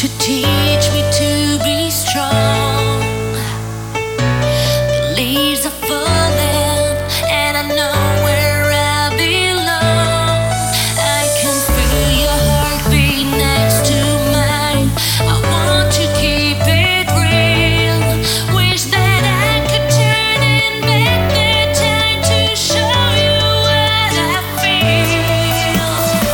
to teach me to be strong. The leaves are falling, and I know where I belong. I can feel your heartbeat next to mine. I want to keep it real. Wish that I could turn in back the time to show you what I feel.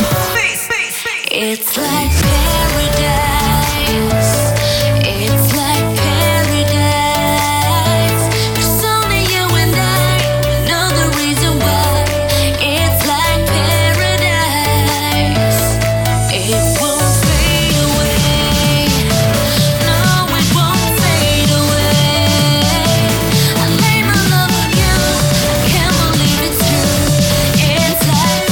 It's like paradise. It's like paradise. 'Cause only you and I know the reason why. It's like paradise. It won't fade away. No, it won't fade away. I lay my love on you. I can't believe it's true. It's like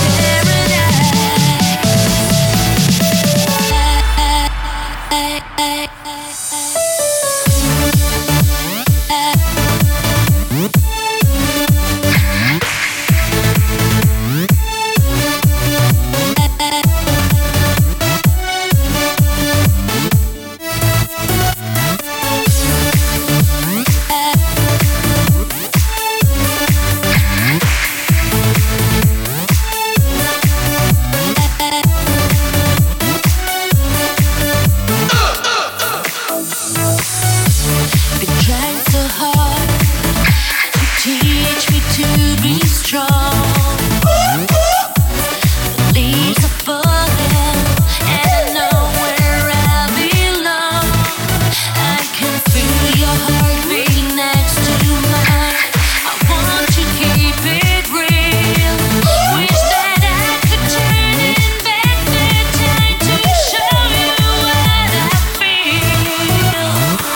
been trying so hard to teach me to be strong. The leaves are falling, and I know where I belong. I can feel your heartbeat next to mine. I want to keep it real. Wish that I could turn it back the time to show you what I feel.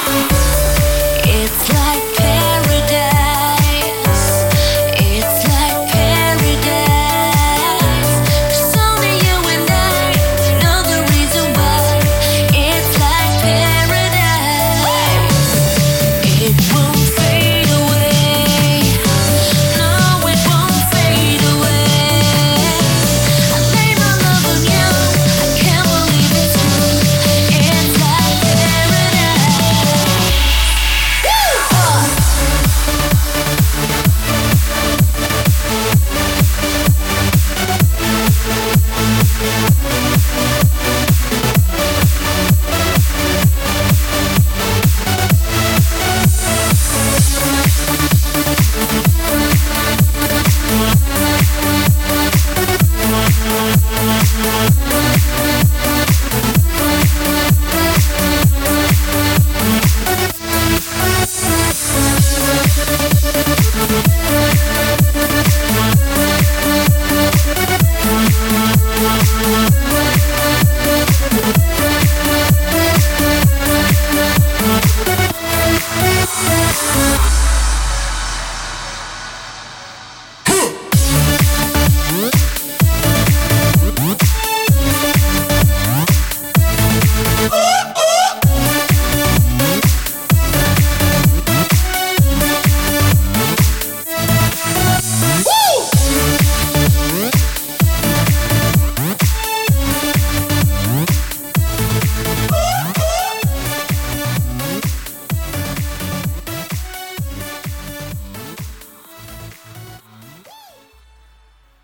It's like paradise. It's like paradise. 'Cause only you and I know the reason why. It's like paradise. It won't fade away. No, it won't fade away. I lay my love on you. I can't believe it's true. It's like paradise.